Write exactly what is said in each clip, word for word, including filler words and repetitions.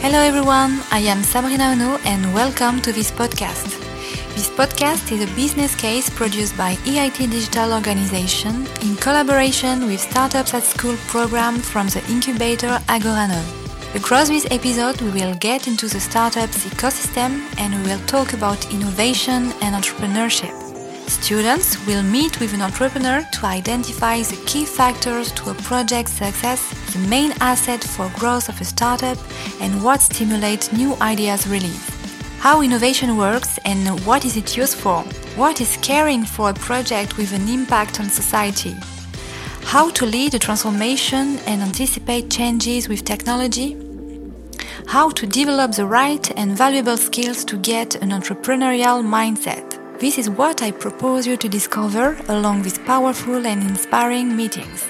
Hello everyone, I am Sabrina Ono and welcome to this podcast. This podcast is a business case produced by E I T Digital Organization in collaboration with Startups at School program from the incubator Agoranov. Across this episode, we will get into the startups ecosystem and we will talk about innovation and entrepreneurship. Students will meet with an entrepreneur to identify the key factors to a project's success, the main asset for growth of a startup, and what stimulates new ideas release. How innovation works and what is it used for? What is caring for a project with an impact on society? How to lead a transformation and anticipate changes with technology? How to develop the right and valuable skills to get an entrepreneurial mindset. This is what I propose you to discover along with powerful and inspiring meetings.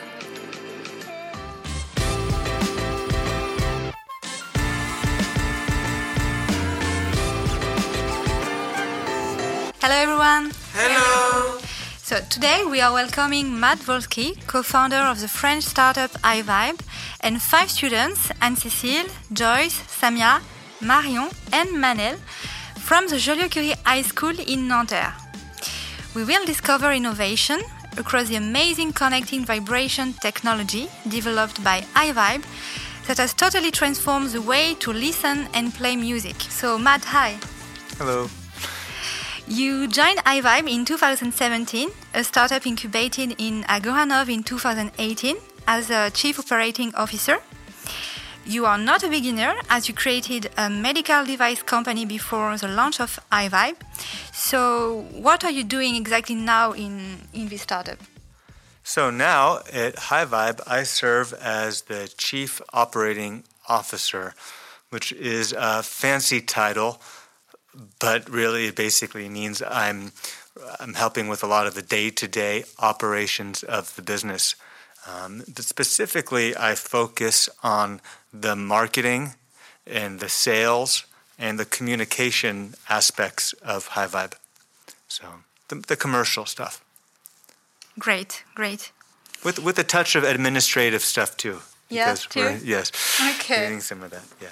Hello everyone! Hello! So today we are welcoming Matt Wolski, co-founder of the French startup iVibe, and five students, Anne-Cécile, Joyce, Samia, Marion and Manel, from the Joliot-Curie High School in Nanterre. We will discover innovation across the amazing connecting vibration technology developed by iVibe that has totally transformed the way to listen and play music. So Matt, hi! Hello! You joined iVibe in two thousand seventeen, a startup incubated in Agoranov in two thousand eighteen as a Chief Operating Officer. You are not a beginner as you created a medical device company before the launch of iVibe. So what are you doing exactly now in, in this startup? So now at iVibe, I serve as the Chief Operating Officer, which is a fancy title, but really it basically means I'm I'm helping with a lot of the day-to-day operations of the business. Um, but specifically, I focus on the marketing and the sales and the communication aspects of iVibe. So the, the commercial stuff. Great, great. With with a touch of administrative stuff too. Yes, too? We're, yes. Okay. Doing some of that, yeah.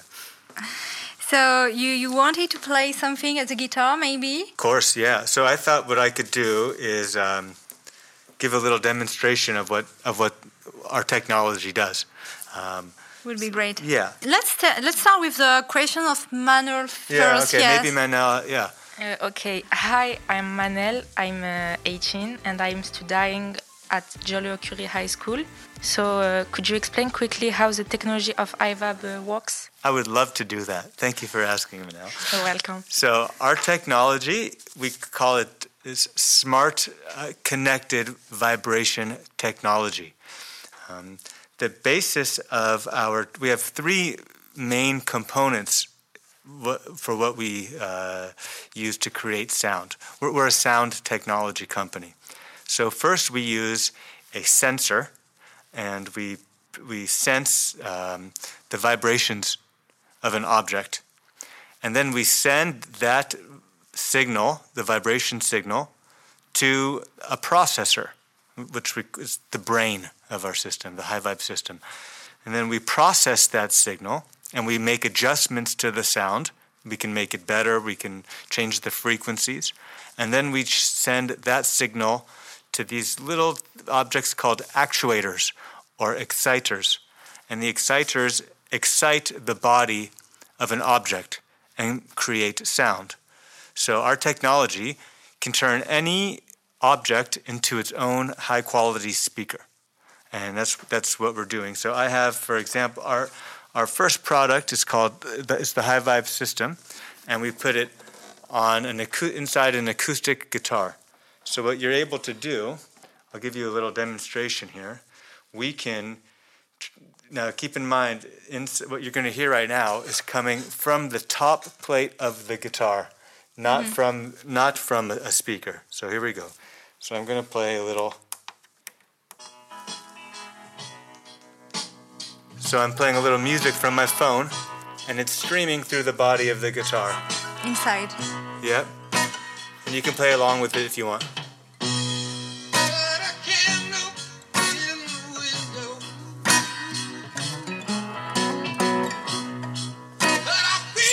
So you, you wanted to play something at the guitar, maybe? Of course, yeah. So I thought what I could do is um, give a little demonstration of what of what our technology does. Um, Would be great. Yeah. Let's t- let's start with the question of Manuel first. Yeah. Okay. Yes. Maybe Manel. Yeah. Uh, okay. Hi, I'm Manel. I'm uh, eighteen and I'm studying at Joliot-Curie High School. So uh, could you explain quickly how the technology of iVibe uh, works? I would love to do that. Thank you for asking, Manel. You're welcome. So our technology, we call it is smart uh, connected vibration technology. Um, the basis of our, we have three main components w- for what we uh, use to create sound. We're, we're a sound technology company. So first we use a sensor, and we we sense um, the vibrations of an object, and then we send that signal, the vibration signal, to a processor, which we, is the brain of our system, the iVibe system. And then we process that signal, and we make adjustments to the sound. We can make it better, we can change the frequencies, and then we send that signal to these little objects called actuators or exciters. And the exciters excite the body of an object and create sound. So our technology can turn any object into its own high-quality speaker. And that's that's what we're doing. So I have, for example, our our first product is called is the iVibe system, and we put it on an acu- inside an acoustic guitar. So what you're able to do, I'll give you a little demonstration here. We can, now keep in mind, in, what you're going to hear right now is coming from the top plate of the guitar, not mm-hmm. from not from a speaker. So here we go. So I'm going to play a little. So I'm playing a little music from my phone, and it's streaming through the body of the guitar. Inside. Yep. And you can play along with it if you want.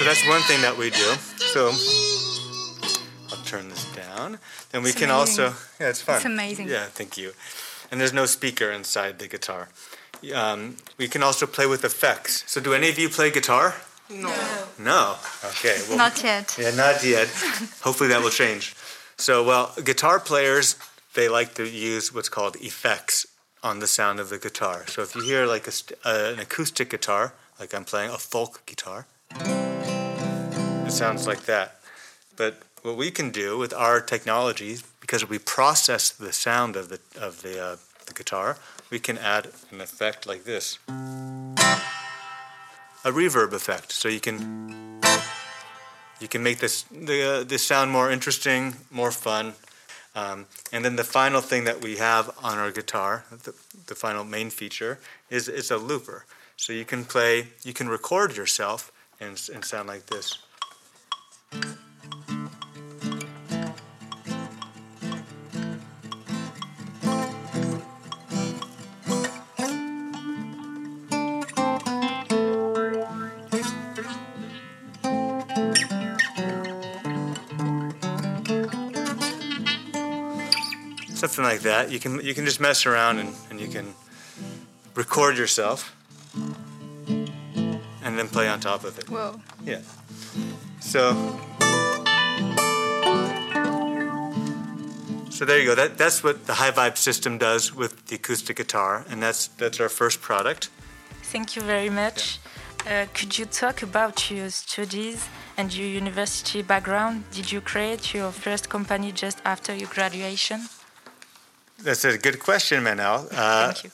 so that's one thing that we do. So I'll turn this down. Then we it's can amazing. also, yeah, it's fun. It's amazing. Yeah, thank you. And there's no speaker inside the guitar. Um, we can also play with effects. So do any of you play guitar? No. No. Okay. Well, Not yet. Yeah, not yet. Hopefully that will change. So, well, guitar players, they like to use what's called effects on the sound of the guitar. So if you hear like a, uh, an acoustic guitar, like I'm playing a folk guitar, it sounds like that. But what we can do with our technology, because we process the sound of the of the, uh, the guitar, we can add an effect like this, a reverb effect. So you can you can make this the uh, this sound more interesting, more fun. Um, and then the final thing that we have on our guitar, the, the final main feature, is is a looper. So you can play, you can record yourself and and sound like this. Something like that. You can you can just mess around and, and you can record yourself and then play on top of it. Whoa. Yeah. So So there you go. That that's what the High Vibe system does with the acoustic guitar, and that's that's our first product. Thank you very much. Uh, could you talk about your studies and your university background? Did you create your first company just after your graduation? That's a good question, Manel. Uh, Thank you.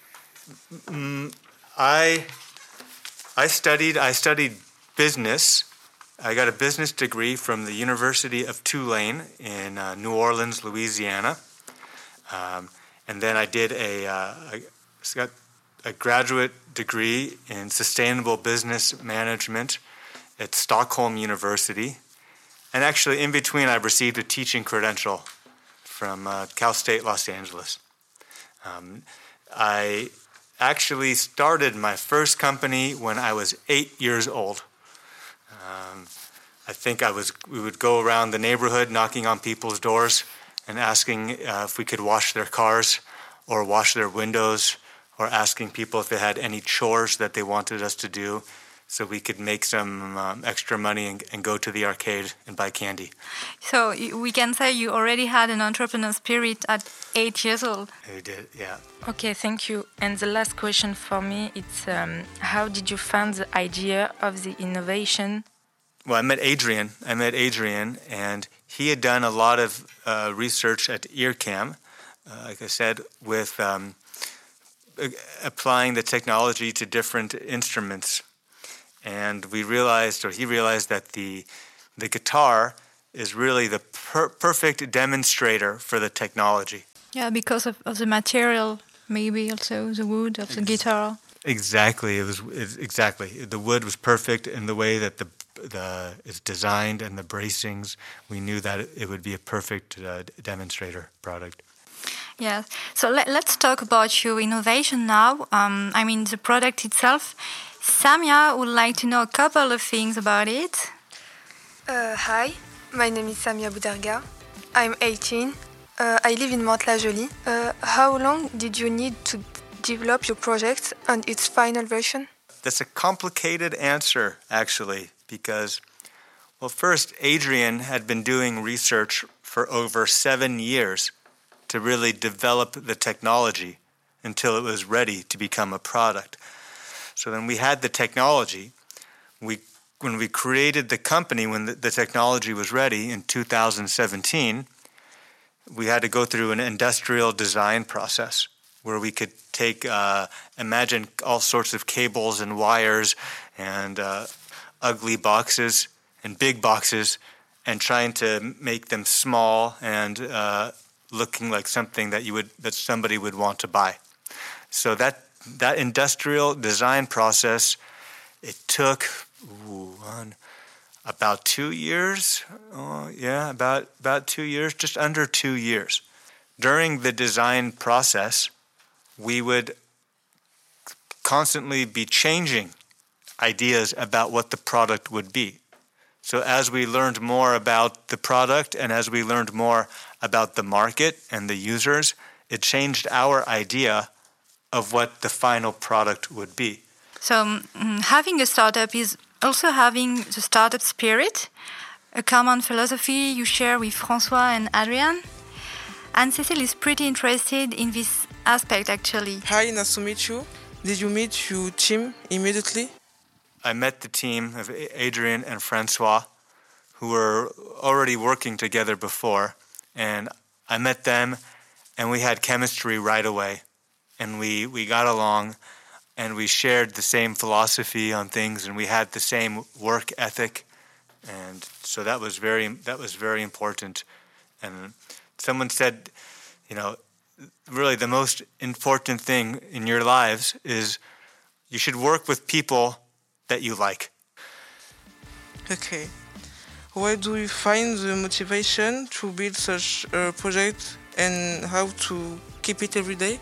Mm, I I studied I studied business. I got a business degree from the University of Tulane in uh, New Orleans, Louisiana, um, and then I did a uh, I got a graduate degree in sustainable business management at Stockholm University, and actually in between I received a teaching credential from uh, Cal State Los Angeles. Um, I actually started my first company when I was eight years old. Um, I think I was. We would go around the neighborhood knocking on people's doors and asking uh, if we could wash their cars or wash their windows, or asking people if they had any chores that they wanted us to do, so we could make some um, extra money and, and go to the arcade and buy candy. So we can say you already had an entrepreneur spirit at eight years old. We did, yeah. Okay, thank you. And the last question for me, it's um, how did you find the idea of the innovation? Well, I met Adrian. I met Adrian, and he had done a lot of uh, research at EarCam, uh, like I said, with um, applying the technology to different instruments. And we realized, or he realized, that the the guitar is really the per- perfect demonstrator for the technology. Yeah, because of, of the material, maybe also the wood of the guitar. Exactly, it was it, exactly the wood was perfect in the way that the the is designed, and the bracings. We knew that it, it would be a perfect uh, demonstrator product. Yes. So let, let's talk about your innovation now. Um, I mean, the product itself. Samia would like to know a couple of things about it. Uh, hi, my name is Samia Boudarga. I'm eighteen. Uh, I live in Mantes-la-Jolie. Uh, how long did you need to develop your project and its final version? That's a complicated answer, actually, because, well, first, Adrian had been doing research for over seven years to really develop the technology until it was ready to become a product. So then we had the technology. We, when we created the company, when the, the technology was ready in two thousand seventeen, we had to go through an industrial design process where we could take, uh, imagine all sorts of cables and wires and uh, ugly boxes and big boxes, and trying to make them small and uh, looking like something that you would that somebody would want to buy. So that that industrial design process, it took ooh, one, about two years. Oh, yeah, about about two years, just under two years. During the design process, we would constantly be changing ideas about what the product would be. So as we learned more about the product and as we learned more about the market and the users, it changed our idea of what the final product would be. So um, having a startup is also having the startup spirit, a common philosophy you share with François and Adrian. And Cecile is pretty interested in this aspect, actually. Hi, nice to meet you. Did you meet your team immediately? I met the team of Adrian and Francois, who were already working together before, and I met them, and we had chemistry right away, and we, we got along, and we shared the same philosophy on things, and we had the same work ethic, and so that was very that was very important. And someone said, you know, really the most important thing in your lives is you should work with people that you like. Okay. Where do you find the motivation to build such a project and how to keep it every day?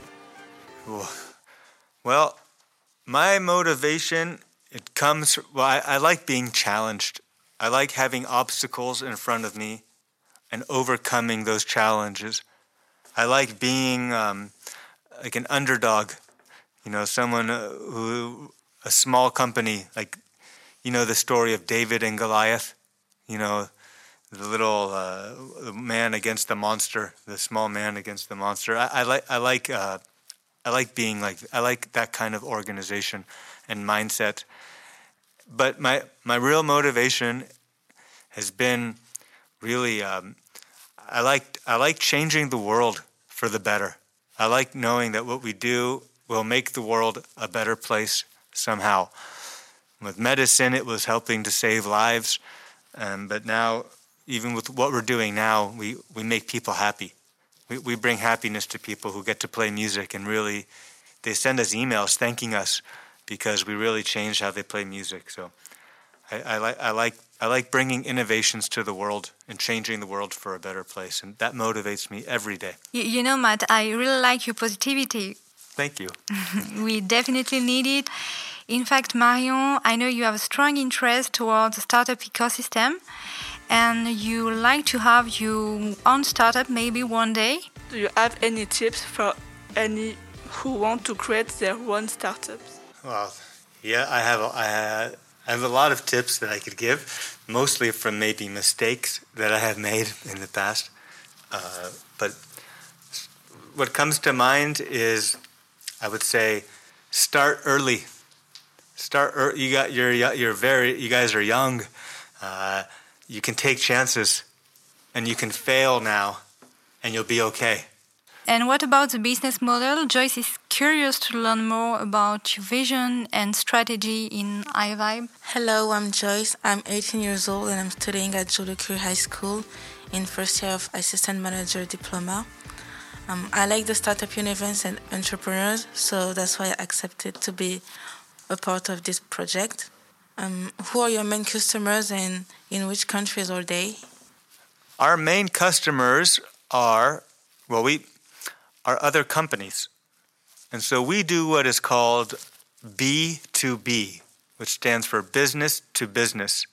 Well, my motivation, it comes, well, I, I like being challenged. I like having obstacles in front of me and overcoming those challenges. I like being um, like an underdog, you know, someone who, a small company, like, you know, the story of David and Goliath, you know, the little uh, man against the monster, the small man against the monster. I, I like, I like, uh, I like being like, I like that kind of organization and mindset. But my my real motivation has been really, um, I like I like changing the world for the better. I like knowing that what we do will make the world a better place somehow. With medicine, it was helping to save lives, um, but now, even with what we're doing now, we, we make people happy. We we bring happiness to people who get to play music, and really, they send us emails thanking us because we really changed how they play music. So, I, I like I like I like bringing innovations to the world and changing the world for a better place, and that motivates me every day. You, you know, Matt, I really like your positivity. Thank you. We definitely need it. In fact, Marion, I know you have a strong interest towards the startup ecosystem, and you like to have your own startup maybe one day. Do you have any tips for any who want to create their own startups? Well, yeah, I have. I have, I have a lot of tips that I could give, mostly from maybe mistakes that I have made in the past. Uh, but what comes to mind is, I would say, start early. Start early. You got you're you're very. You guys are young. Uh, you can take chances, and you can fail now, and you'll be okay. And what about the business model? Joyce is curious to learn more about your vision and strategy in iVibe. Hello, I'm Joyce. I'm eighteen years old and I'm studying at Joliot-Curie High School in first year of Assistant Manager Diploma. Um, I like the startup universe and entrepreneurs, so that's why I accepted to be a part of this project. Um, who are your main customers and in which countries are they? Our main customers are, well, we are other companies. And so we do what is called B two B, which stands for business to business.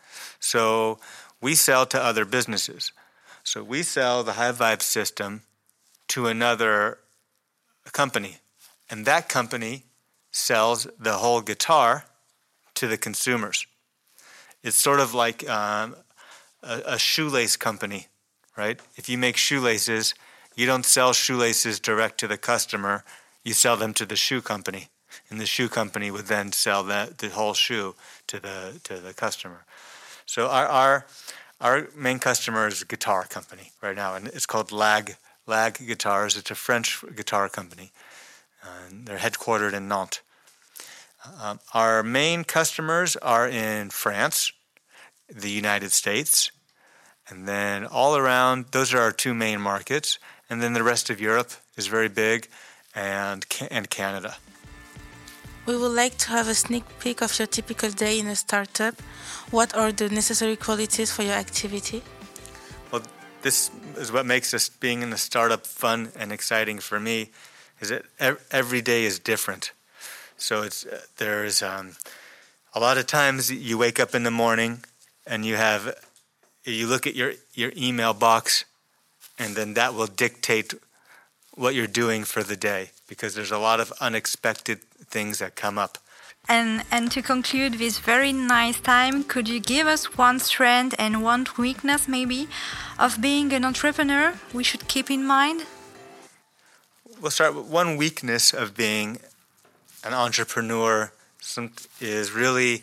So we sell to other businesses. So we sell the iVibe system to another company, and that company sells the whole guitar to the consumers. It's sort of like um, a, a shoelace company, right? If you make shoelaces, you don't sell shoelaces direct to the customer, you sell them to the shoe company, and the shoe company would then sell the, the whole shoe to the to the customer. So our our our main customer is a guitar company right now, and it's called Lag Lag Guitars. It's a French guitar company, and they're headquartered in Nantes. Um, our main customers are in France, the United States, and then all around, those are our two main markets, and then the rest of Europe is very big, and and Canada. We would like to have a sneak peek of your typical day in a startup. What are the necessary qualities for your activity? Well, this is what makes us being in the startup fun and exciting for me, is that every day is different. So it's uh, there's um, a lot of times you wake up in the morning and you have you look at your, your email box, and then that will dictate what you're doing for the day, because there's a lot of unexpected things that come up. And and to conclude this very nice time, could you give us one strength and one weakness maybe of being an entrepreneur we should keep in mind? We'll start with one weakness of being an entrepreneur some, is really,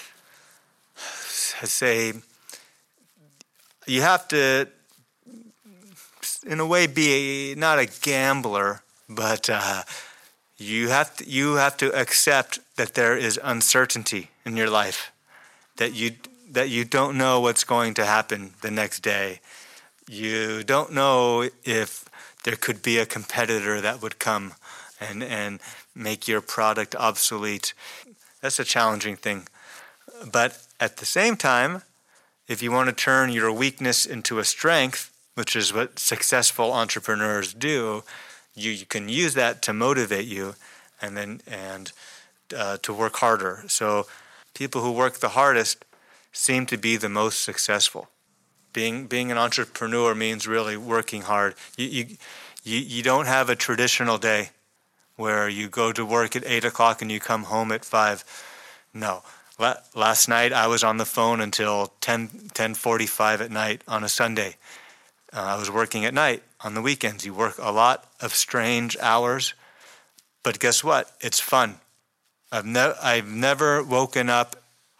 I say, you have to, in a way, be a, not a gambler, but uh, you have to, you have to accept that there is uncertainty in your life, that you that you don't know what's going to happen the next day. You don't know if there could be a competitor that would come and and make your product obsolete. That's a challenging thing. But at the same time, if you want to turn your weakness into a strength, which is what successful entrepreneurs do, you, you can use that to motivate you and then and uh, to work harder. So people who work the hardest seem to be the most successful. Being being an entrepreneur means really working hard. You you you, you don't have a traditional day where you go to work at eight o'clock and you come home at five. No. La- last night I was on the phone until ten, ten forty-five at night on a Sunday. Uh, I was working at night on the weekends. You work a lot of strange hours, but guess what? It's fun. I've, ne- I've never woken up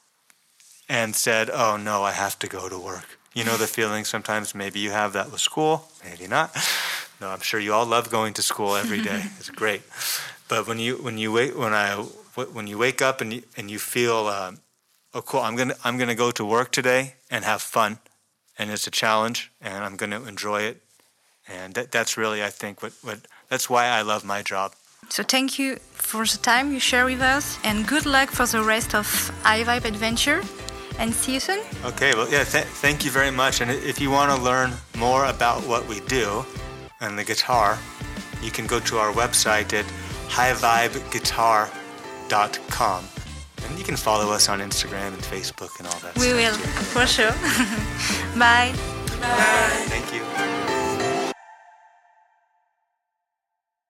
and said, oh no, I have to go to work. You know the feeling sometimes, maybe you have that with school, maybe not. No, I'm sure you all love going to school every day. It's great. But when you when you wait when I when you wake up and you, and you feel, um, oh cool, I'm gonna I'm gonna go to work today and have fun, and it's a challenge, and I'm gonna enjoy it, and that, that's really I think what, what that's why I love my job. So thank you for the time you share with us, and good luck for the rest of iVibe adventure, and see you soon. Okay, well yeah, th- thank you very much. And if you want to learn more about what we do and the guitar, you can go to our website at high vibe guitar dot com. And you can follow us on Instagram and Facebook and all that we stuff. We will, too. for sure. Bye. Bye. Thank you.